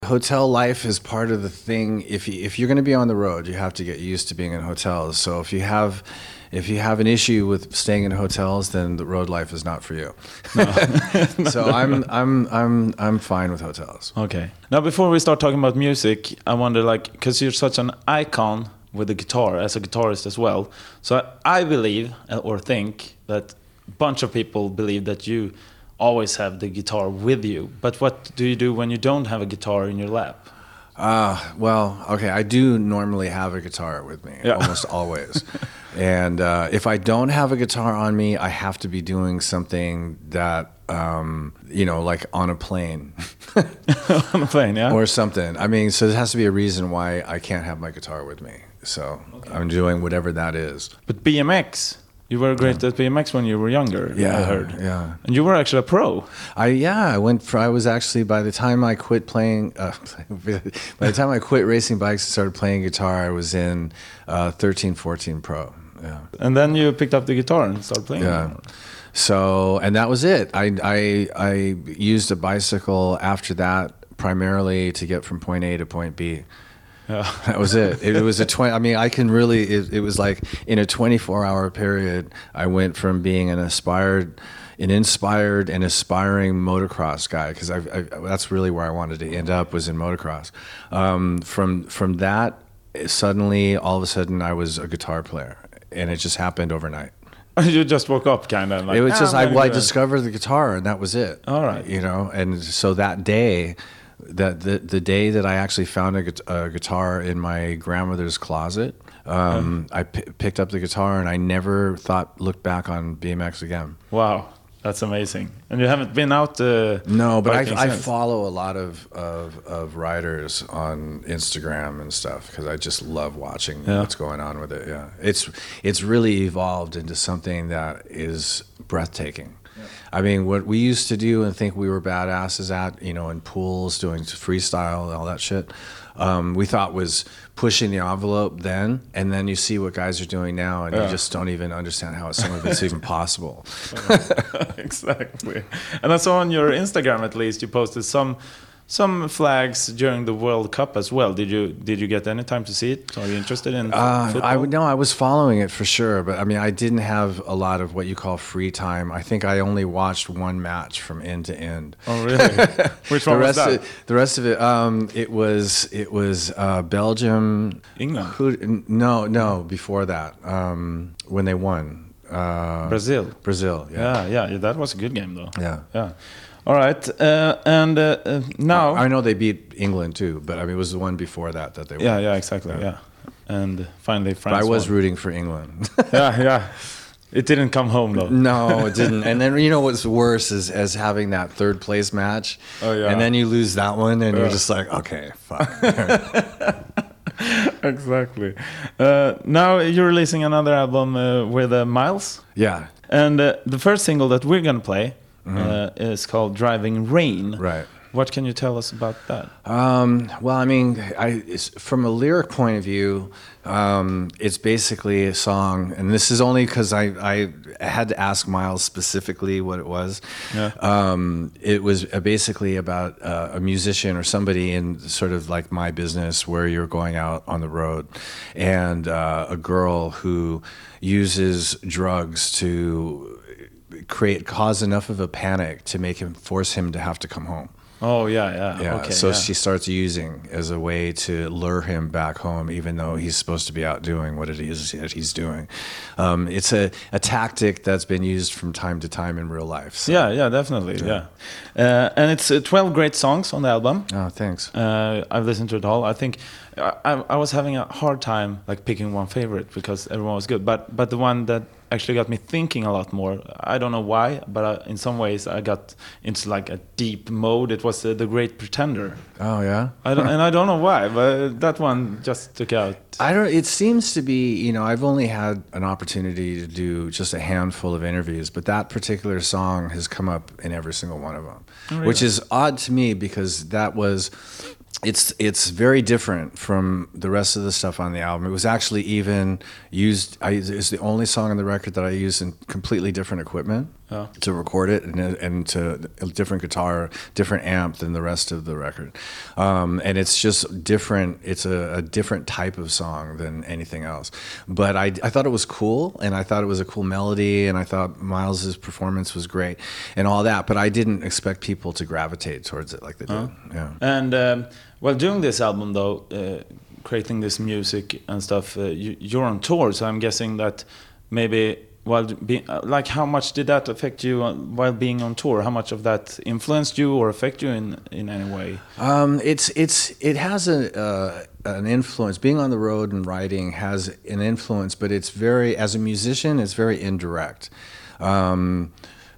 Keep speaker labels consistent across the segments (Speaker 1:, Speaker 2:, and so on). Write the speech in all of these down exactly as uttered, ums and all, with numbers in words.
Speaker 1: hotel life is part of the thing. If you, if you're going to be on the road, you have to get used to being in hotels. So if you have if you have an issue with staying in hotels, then the road life is not for you. No. So I'm I'm I'm I'm fine with hotels.
Speaker 2: Okay. Now, before we start talking about music, I wonder, like, because you're such an icon with the guitar as a guitarist as well. So I believe or think that a bunch of people believe that you always have the guitar with you. But what do you do when you don't have a guitar in your lap?
Speaker 1: Uh, well, okay, I do normally have a guitar with me, yeah. Almost always. And uh, if I don't have a guitar on me, I have to be doing something that, um, you know, like on a plane.
Speaker 2: On a plane, yeah?
Speaker 1: Or something. I mean, so there has to be a reason why I can't have my guitar with me. So okay. I'm doing whatever that is.
Speaker 2: But B M X... You were great yeah. at B M X when you were younger,
Speaker 1: yeah,
Speaker 2: I heard.
Speaker 1: Yeah.
Speaker 2: And you were actually a pro.
Speaker 1: I yeah, I went for, I was actually, by the time I quit playing, uh, by the time I quit racing bikes and started playing guitar, I was in uh, thirteen, fourteen pro. Yeah.
Speaker 2: And then you picked up the guitar and started playing.
Speaker 1: Yeah. So, and that was it. I, I, I used a bicycle after that primarily to get from point A to point B. Yeah. That was it. It was a twenty. I mean, I can really. It, it was like in a twenty-four hour period, I went from being an aspired, an inspired and aspiring motocross guy, because I, I that's really where I wanted to end up, was in motocross. Um, from from that, suddenly, all of a sudden, I was a guitar player, and it just happened overnight.
Speaker 2: You just woke up, kind of. Like,
Speaker 1: it was
Speaker 2: ah,
Speaker 1: just I, well, I discovered the guitar, and that was it.
Speaker 2: All right.
Speaker 1: You know, and so that day. That the the day that I actually found a, a guitar in my grandmother's closet, um, yeah. I p- picked up the guitar, and I never thought looked back on B M X again.
Speaker 2: Wow, that's amazing! And you haven't been out? Uh,
Speaker 1: no, but I, I follow a lot of, of of riders on Instagram and stuff, because I just love watching yeah. what's going on with it. Yeah, it's it's really evolved into something that is breathtaking. I mean, what we used to do and think we were badasses at, you know, in pools, doing freestyle and all that shit, um, we thought was pushing the envelope then, and then you see what guys are doing now, and yeah. you just don't even understand how some of it's even possible.
Speaker 2: Exactly. And I saw on your Instagram, at least, you posted some some flags during the World Cup as well. Did you did you get any time to see it? Are you interested in
Speaker 1: uh,
Speaker 2: football?
Speaker 1: I would no, I was following it for sure, but I mean, I didn't have a lot of what you call free time. I think I only watched one match from end to end.
Speaker 2: Oh, really? Which one
Speaker 1: the
Speaker 2: was
Speaker 1: rest
Speaker 2: that?
Speaker 1: Of, the rest of it, um, it was it was uh, Belgium,
Speaker 2: England.
Speaker 1: Who, no, no, before that, um, when they won. Uh,
Speaker 2: Brazil.
Speaker 1: Brazil. Yeah.
Speaker 2: yeah, yeah, that was a good game though.
Speaker 1: Yeah,
Speaker 2: yeah. All right, uh, and uh, uh, now
Speaker 1: I know they beat England too, but I mean it was the one before that that they won.
Speaker 2: Yeah, yeah, exactly. Yeah, yeah. And finally France.
Speaker 1: But I was
Speaker 2: won.
Speaker 1: rooting for England.
Speaker 2: yeah, yeah. It didn't come home though.
Speaker 1: No, it didn't. And then you know what's worse is as having that third place match.
Speaker 2: Oh yeah.
Speaker 1: And then you lose that one, and
Speaker 2: yeah.
Speaker 1: you're just like, okay, fuck.
Speaker 2: Exactly. Uh, now you're releasing another album uh, with uh, Miles.
Speaker 1: Yeah.
Speaker 2: And uh, the first single that we're gonna play. Mm-hmm. Uh, is called Driving Rain.
Speaker 1: Right.
Speaker 2: What can you tell us about that?
Speaker 1: Um, well, I mean, I, it's, from a lyric point of view, um, it's basically a song, and this is only because I, I had to ask Miles specifically what it was.
Speaker 2: Yeah.
Speaker 1: Um, it was uh, basically about uh, a musician or somebody in sort of like my business where you're going out on the road, and uh, a girl who uses drugs to create cause enough of a panic to make him force him to have to come home.
Speaker 2: Oh yeah, yeah.
Speaker 1: Yeah.
Speaker 2: Okay,
Speaker 1: so
Speaker 2: yeah.
Speaker 1: she starts using as a way to lure him back home, even though he's supposed to be out doing what it is that he's doing. Um, it's a, a tactic that's been used from time to time in real life. So.
Speaker 2: Yeah, yeah, definitely. Yeah, yeah. Uh, and it's uh, twelve great songs on the album.
Speaker 1: Oh, thanks.
Speaker 2: Uh, I've listened to it all. I think I, I was having a hard time like picking one favorite because everyone was good, but but the one that actually got me thinking a lot more. I don't know why, but uh, in some ways I got into like a deep mode. It was uh, The Great Pretender.
Speaker 1: Oh yeah.
Speaker 2: I don't, and I don't know why, but that one just took out.
Speaker 1: I don't. It seems to be. You know, I've only had an opportunity to do just a handful of interviews, but that particular song has come up in every single one of them, oh, really? Which is odd to me because that was. It's it's very different from the rest of the stuff on the album. It was actually even used. I, it's the only song on the record that I used in completely different equipment.
Speaker 2: Yeah.
Speaker 1: to record it, and and to a different guitar, different amp than the rest of the record, um, and it's just different. It's a, a different type of song than anything else. But I, I thought it was cool, and I thought it was a cool melody, and I thought Miles's performance was great, and all that. But I didn't expect people to gravitate towards it like they did.
Speaker 2: Uh-huh.
Speaker 1: Yeah.
Speaker 2: And um, well, doing this album though, uh, creating this music and stuff, uh, you, you're on tour, so I'm guessing that maybe. While being, like, how much did that affect you on, while being on tour? How much of that influenced you or affect you in in any way?
Speaker 1: Um, it's it's it has a uh, an influence. Being on the road and writing has an influence, but it's very, as a musician, it's very indirect. Um,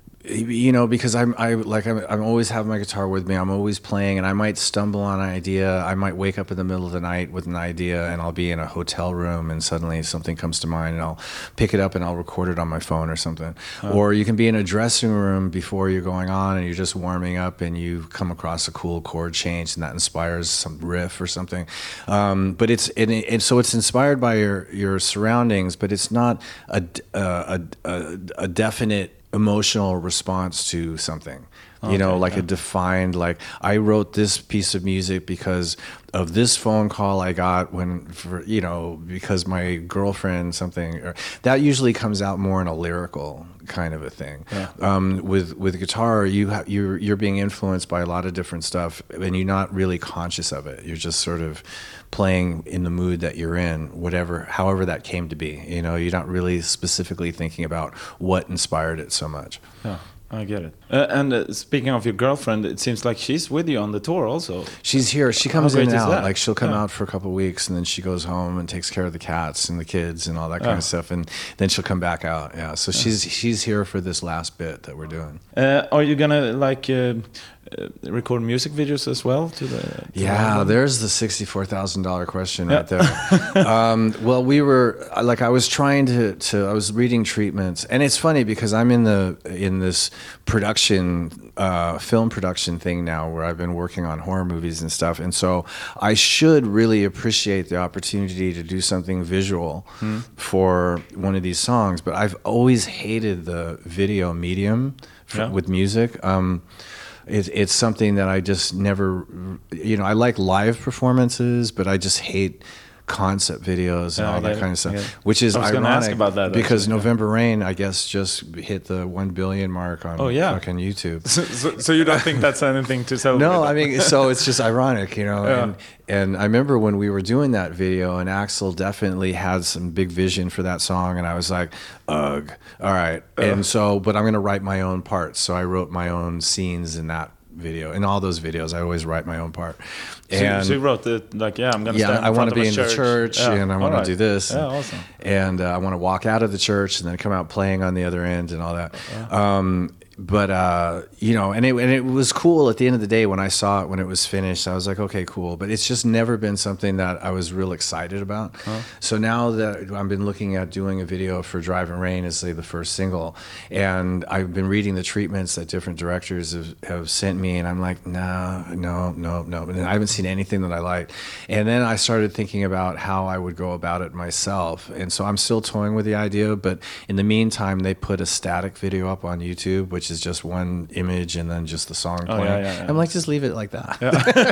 Speaker 1: you know, because I'm I like I'm, I'm always have my guitar with me. I'm always playing, and I might stumble on an idea. I might wake up in the middle of the night with an idea, and I'll be in a hotel room, and suddenly something comes to mind, and I'll pick it up and I'll record it on my phone or something. Oh. Or you can be in a dressing room before you're going on, and you're just warming up, and you come across a cool chord change, and that inspires some riff or something. Um, but it's it, it, so it's inspired by your your surroundings, but it's not a a, a, a definite emotional response to something, you okay, know, like yeah. a defined, like I wrote this piece of music because of this phone call I got when, for, you know, because my girlfriend something, or that usually comes out more in a lyrical kind of a thing. Yeah. Um, with with guitar, you ha- you're you're being influenced by a lot of different stuff, and you're not really conscious of it. You're just sort of playing in the mood that you're in, whatever, however that came to be. You know, you're not really specifically thinking about what inspired it so much.
Speaker 2: Yeah. I get it. Uh, and uh, speaking of your girlfriend, it seems like she's with you on the tour also.
Speaker 1: She's here. She comes in and out.
Speaker 2: That?
Speaker 1: Like she'll come
Speaker 2: yeah.
Speaker 1: out for a couple of weeks, and then she goes home and takes care of the cats and the kids and all that kind
Speaker 2: oh.
Speaker 1: of stuff, and then she'll come back out. Yeah. So yeah. she's she's here for this last bit that we're doing.
Speaker 2: Uh, are you gonna like uh, uh, record music videos as well? To the to
Speaker 1: yeah,
Speaker 2: the
Speaker 1: there's the sixty-four thousand dollar question yeah. right there. um, well, we were like I was trying to to I was reading treatments, and it's funny because I'm in the in this production uh, film production thing now where I've been working on horror movies and stuff, and so I should really appreciate the opportunity to do something visual hmm. for one of these songs, but I've always hated the video medium for,
Speaker 2: yeah.
Speaker 1: with music. Um, it, it's something that I just never, you know, I like live performances, but I just hate concept videos and
Speaker 2: yeah,
Speaker 1: all that
Speaker 2: it.
Speaker 1: kind of stuff,
Speaker 2: yeah.
Speaker 1: which is
Speaker 2: I was
Speaker 1: ironic
Speaker 2: ask about that,
Speaker 1: because
Speaker 2: actually.
Speaker 1: November Rain, I guess, just hit the one billion mark on
Speaker 2: oh, yeah.
Speaker 1: fucking YouTube.
Speaker 2: So, so, so you don't think that's anything to celebrate?
Speaker 1: No, I mean, so it's just ironic, you know.
Speaker 2: Yeah.
Speaker 1: And and I remember when we were doing that video, and Axl definitely had some big vision for that song, and I was like, ugh, all right. Uh. And so, but I'm going to write my own parts. So I wrote my own scenes in that video. In all those videos, I always write my own part. And
Speaker 2: so, so you wrote the like, yeah, I'm gonna
Speaker 1: yeah,
Speaker 2: stand in
Speaker 1: I want to
Speaker 2: front
Speaker 1: be
Speaker 2: of
Speaker 1: in
Speaker 2: a
Speaker 1: the church,
Speaker 2: yeah.
Speaker 1: and I want
Speaker 2: right.
Speaker 1: to do this.
Speaker 2: Yeah,
Speaker 1: and,
Speaker 2: awesome.
Speaker 1: And uh, I want to walk out of the church and then come out playing on the other end and all that. Yeah. Um, but uh, you know, and it and it was cool at the end of the day when I saw it when it was finished. I was like, okay, cool. But it's just never been something that I was real excited about. Huh? So now that I've been looking at doing a video for Driving Rain as say the first single, and I've been reading the treatments that different directors have, have sent me, and I'm like, no, no, no, no. And I haven't seen anything that I like. And then I started thinking about how I would go about it myself. And so I'm still toying with the idea, but in the meantime, they put a static video up on YouTube, which is just one image and then just the song
Speaker 2: oh,
Speaker 1: playing.
Speaker 2: Yeah, yeah, yeah.
Speaker 1: I'm like, just leave it like that.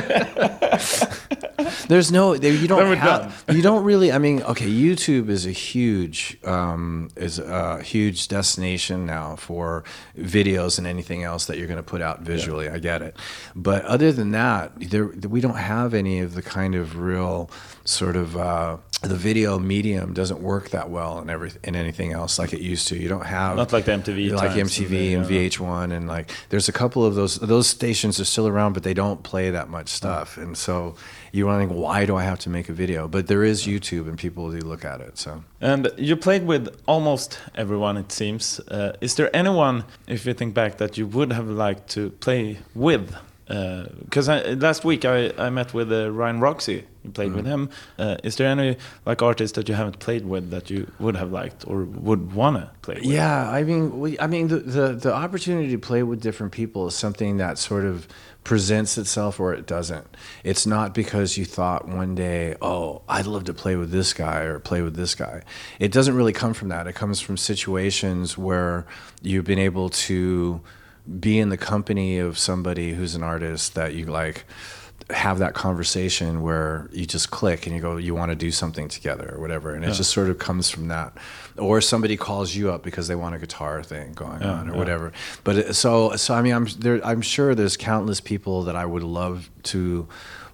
Speaker 2: Yeah.
Speaker 1: There's no, you don't have, you don't really, I mean, okay, YouTube is a huge, um, is a huge destination now for videos and anything else that you're going to put out visually. Yeah. I get it. But other than that, there, we don't have any of the kind of real sort of, uh, the video medium doesn't work that well in every in anything else like it used to. You don't have
Speaker 2: not like the M T V,
Speaker 1: like M T V and, and V H one, and like there's a couple of those those stations are still around, but they don't play that much stuff. And so you're wondering, why do I have to make a video? But there is YouTube, and people do look at it. So
Speaker 2: and you played with almost everyone, it seems. Uh, is there anyone, if you think back, that you would have liked to play with? Because uh, last week I, I met with uh, Ryan Roxy. You played mm-hmm. with him. Uh, is there any like artist that you haven't played with that you would have liked or would wanna play with?
Speaker 1: Yeah, I mean, we, I mean, the, the the opportunity to play with different people is something that sort of presents itself or it doesn't. It's not because you thought one day, oh, I'd love to play with this guy or play with this guy. It doesn't really come from that. It comes from situations where you've been able to be in the company of somebody who's an artist that you like, have that conversation where you just click and you go, you want to do something together or whatever. And it yeah. just sort of comes from that. Or somebody calls you up because they want a guitar thing going yeah, on or yeah. whatever. But it, so, so I mean, I'm there, I'm sure there's countless people that I would love to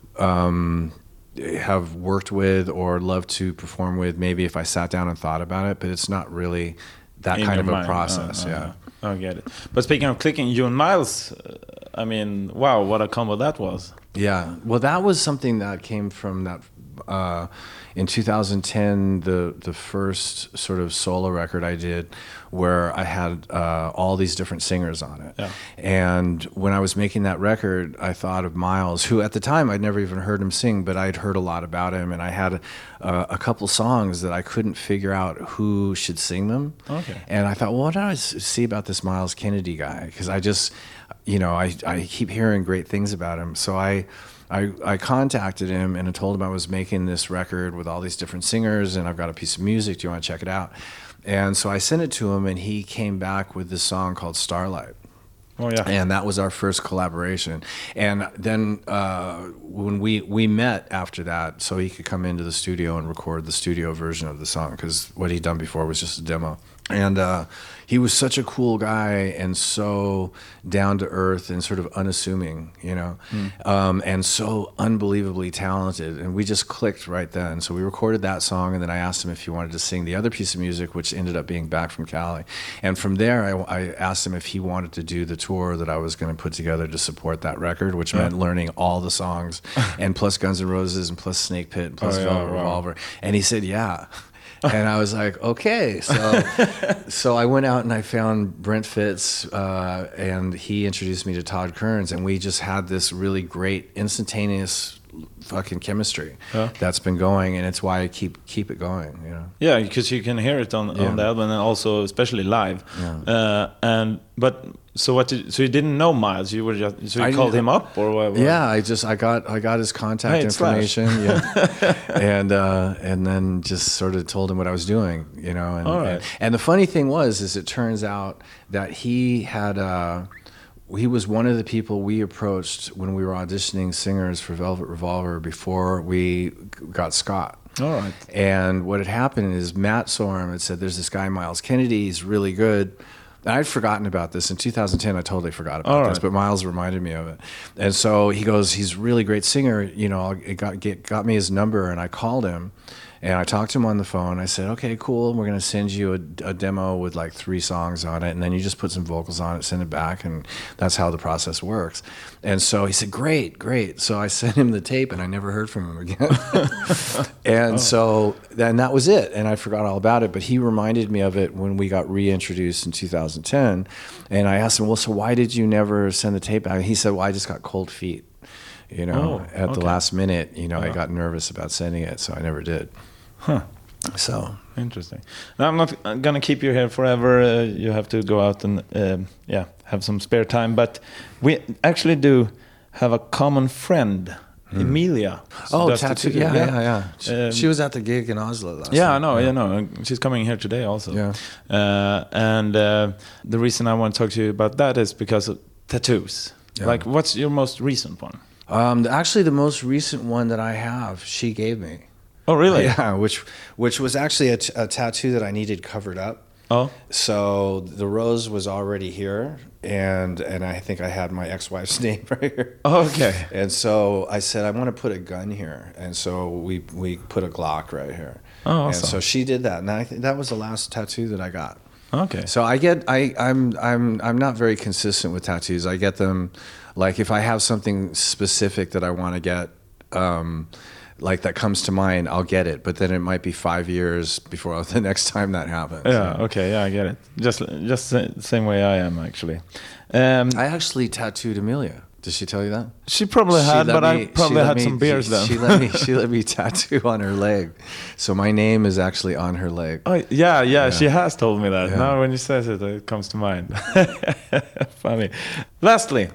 Speaker 1: um, have worked with or love to perform with, maybe if I sat down and thought about it, but it's not really that in kind of mind. a process.
Speaker 2: Oh, oh,
Speaker 1: yeah.
Speaker 2: Oh, I get it. But speaking of clicking, you and Miles, uh, I mean, wow, what a combo that was.
Speaker 1: Yeah, well, that was something that came from that uh, in two thousand ten, the the first sort of solo record I did, where I had uh, all these different singers on it.
Speaker 2: Yeah.
Speaker 1: And when I was making that record, I thought of Miles, who at the time I'd never even heard him sing, but I'd heard a lot about him, and I had a, a couple songs that I couldn't figure out who should sing them.
Speaker 2: Okay.
Speaker 1: And I thought, well, what did I see about this Miles Kennedy guy? Because I just, you know, I, I keep hearing great things about him. So I, I I contacted him and I told him I was making this record with all these different singers and I've got a piece of music. Do you want to check it out? And so I sent it to him and he came back with this song called Starlight.
Speaker 2: Oh, yeah.
Speaker 1: And that was our first collaboration. And then uh, when we, we met after that, so he could come into the studio and record the studio version of the song, because what he'd done before was just a demo. And uh, he was such a cool guy and so down to earth and sort of unassuming, you know, mm. um, and so unbelievably talented. And we just clicked right then. So we recorded that song, and then I asked him if he wanted to sing the other piece of music, which ended up being Back from Cali. And from there, I, I asked him if he wanted to do the tour that I was going to put together to support that record, which yeah. meant learning all the songs, and plus Guns N' Roses, and plus Snake Pit, and plus oh, yeah, Velvet wow. Revolver. And he said, yeah. And I was like, okay. So so I went out and I found Brent Fitz, uh, and he introduced me to Todd Kearns, and we just had this really great instantaneous fucking chemistry yeah. that's been going, and it's why I keep keep it going, you know.
Speaker 2: Yeah, because you can hear it on, yeah. on the album, and also especially live. Yeah. Uh, and but so what? Did, so you didn't know Miles? You were just so you I, called him up, or what?
Speaker 1: Yeah, I just I got I got his contact hey, information, yeah, and uh, and then just sort of told him what I was doing, you know. And,
Speaker 2: All right.
Speaker 1: and, and the funny thing was, is it turns out that he had. Uh, He was one of the people we approached when we were auditioning singers for Velvet Revolver before we got Scott.
Speaker 2: All right.
Speaker 1: And what had happened is Matt saw him and said, there's this guy, Miles Kennedy, he's really good. And I'd forgotten about this. In two thousand ten, I totally forgot about
Speaker 2: All
Speaker 1: this,
Speaker 2: right.
Speaker 1: but Miles reminded me of it. And so he goes, he's a really great singer. You know, it got, get, got me his number, and I called him. And I talked to him on the phone. I said, okay, cool. We're going to send you a, a demo with like three songs on it. And then you just put some vocals on it, send it back. And that's how the process works. And so he said, great, great. So I sent him the tape, and I never heard from him again. and oh. so then that was it. And I forgot all about it. But he reminded me of it when we got reintroduced in two thousand ten. And I asked him, well, so why did you never send the tape back? And he said, well, I just got cold feet. You know,
Speaker 2: oh,
Speaker 1: at
Speaker 2: okay.
Speaker 1: the last minute, you know,
Speaker 2: oh.
Speaker 1: I got nervous about sending it. So I never did.
Speaker 2: Huh.
Speaker 1: So
Speaker 2: interesting. Now, I'm not gonna keep you here forever. Uh, you have to go out and um, yeah, have some spare time. But we actually do have a common friend, hmm. Emilia.
Speaker 1: So oh, tattoo. Yeah, yeah, yeah. She,
Speaker 2: um,
Speaker 1: she was at the gig in Oslo last
Speaker 2: Yeah,
Speaker 1: night.
Speaker 2: I know.
Speaker 1: Yeah.
Speaker 2: You know, she's coming here today also.
Speaker 1: Yeah.
Speaker 2: Uh, and uh, the reason I want to talk to you about that is because of tattoos. Yeah. Like, what's your most recent one?
Speaker 1: Um, actually, the most recent one that I have, she gave me.
Speaker 2: Oh, really?
Speaker 1: Yeah, which which was actually a, t- a tattoo that I needed covered up.
Speaker 2: Oh.
Speaker 1: So the rose was already here, and and I think I had my ex-wife's name right here.
Speaker 2: Oh, okay.
Speaker 1: And so I said, I want to put a gun here, and so we we put a Glock right here.
Speaker 2: Oh, awesome.
Speaker 1: And so she did that, and I th- that was the last tattoo that I got.
Speaker 2: Okay.
Speaker 1: So I get I I'm I'm I'm not very consistent with tattoos. I get them, like if I have something specific that I want to get. Um, like that comes to mind, I'll get it, but then it might be five years before the next time that happens.
Speaker 2: Yeah, okay, yeah, I get it. Just just the same way I am, actually. Um,
Speaker 1: I actually tattooed Emilia. Did she tell you that?
Speaker 2: She probably
Speaker 1: she
Speaker 2: had, but
Speaker 1: me,
Speaker 2: I probably had
Speaker 1: me,
Speaker 2: some beers
Speaker 1: she,
Speaker 2: then.
Speaker 1: She let me she let me tattoo on her leg. So my name is actually on her leg.
Speaker 2: Oh, yeah, yeah, yeah, she has told me that.
Speaker 1: Yeah.
Speaker 2: Now when you say it, it comes to mind. Funny. Lastly,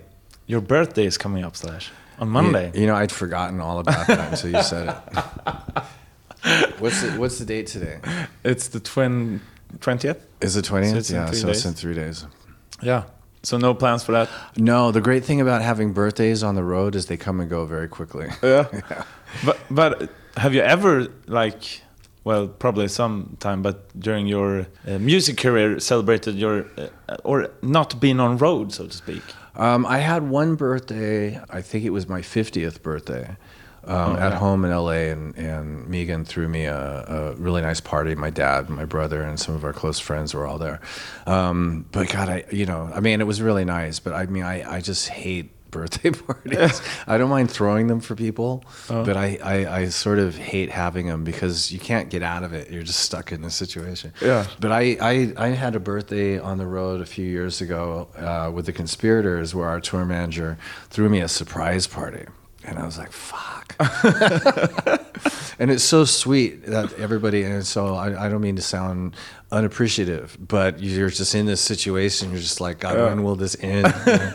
Speaker 2: your birthday is coming up, Slash, on Monday.
Speaker 1: You, you know, I'd forgotten all about that until you said it. What's the, what's the date today?
Speaker 2: It's the twin, twentieth.
Speaker 1: Is it twentieth?
Speaker 2: So
Speaker 1: yeah, so
Speaker 2: days.
Speaker 1: it's in three days.
Speaker 2: Yeah. So no plans for that?
Speaker 1: No, the great thing about having birthdays on the road is they come and go very quickly.
Speaker 2: Yeah. yeah. But but have you ever, like, well, probably sometime, but during your uh, music career, celebrated your, uh, or not been on road, so to speak?
Speaker 1: Um, I had one birthday, I think it was my fiftieth birthday, um,
Speaker 2: oh,
Speaker 1: at
Speaker 2: yeah.
Speaker 1: home in L A, and, and Megan threw me a, a really nice party. My dad, my brother, and some of our close friends were all there. Um, but God, I, you know, I mean, it was really nice, but I mean, I, I just hate birthday parties. I don't mind throwing them for people, oh. but I, I, I sort of hate having them because you can't get out of it. You're just stuck in this situation.
Speaker 2: Yeah.
Speaker 1: But I, I, I had a birthday on the road a few years ago uh, with the Conspirators, where our tour manager threw me a surprise party. And I was like, fuck. And it's so sweet that everybody, and so I, I don't mean to sound unappreciative, but you're just in this situation. You're just like, God, yeah. when will this end?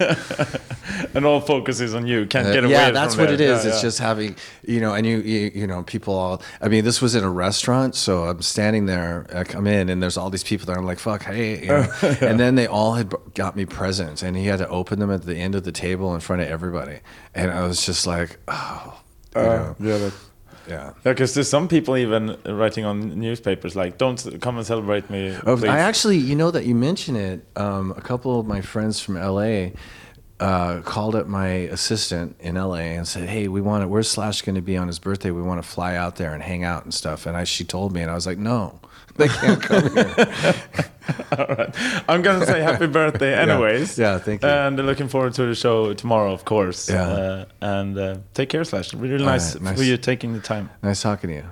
Speaker 2: And all focus is on you. Can't
Speaker 1: uh,
Speaker 2: get away
Speaker 1: yeah,
Speaker 2: from
Speaker 1: that's what
Speaker 2: there.
Speaker 1: it is.
Speaker 2: Yeah,
Speaker 1: it's
Speaker 2: yeah.
Speaker 1: just having, you know, and you, you, you know, people all, I mean, this was in a restaurant. So I'm standing there, I come in and there's all these people there. I'm like, fuck, hey. You know? yeah. And then they all had got me presents and he had to open them at the end of the table in front of everybody. And I was just like, oh, you
Speaker 2: uh,
Speaker 1: know.
Speaker 2: Yeah, that's
Speaker 1: Yeah,
Speaker 2: because there's some people even writing on newspapers like, "Don't come and celebrate me."
Speaker 1: Oh,
Speaker 2: please.
Speaker 1: I actually, you know, that you mention it. Um, a couple of my friends from L A uh, called up my assistant in L A and said, "Hey, we want to. Where's Slash going to be on his birthday? We want to fly out there and hang out and stuff." And I, she told me, and I was like, "No, they can't come here."
Speaker 2: All right. I'm going to say happy birthday anyways.
Speaker 1: Yeah, yeah, thank you.
Speaker 2: And looking forward to the show tomorrow, of course.
Speaker 1: Yeah.
Speaker 2: Uh, and uh, take care, Slash. Really, really nice,
Speaker 1: right, nice
Speaker 2: for you taking the time.
Speaker 1: Nice talking to you.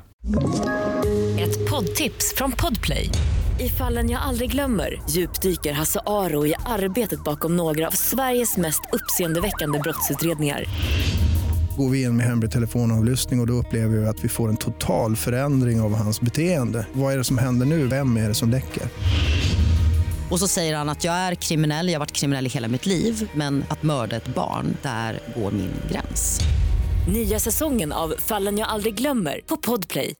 Speaker 3: Ett poddtips från Podplay. I Fallen jag aldrig glömmer djupdyker Hasse Aro i arbetet bakom några av Sveriges mest uppseendeväckande brottsutredningar.
Speaker 4: Går vi in med hemlig telefonavlyssning och, och då upplever vi att vi får en total förändring av hans beteende. Vad är det som händer nu? Vem är det som läcker?
Speaker 5: Och så säger han att jag är kriminell, jag har varit kriminell i hela mitt liv. Men att mörda ett barn, där går min gräns.
Speaker 3: Nya säsongen av Fallen jag aldrig glömmer på Podplay.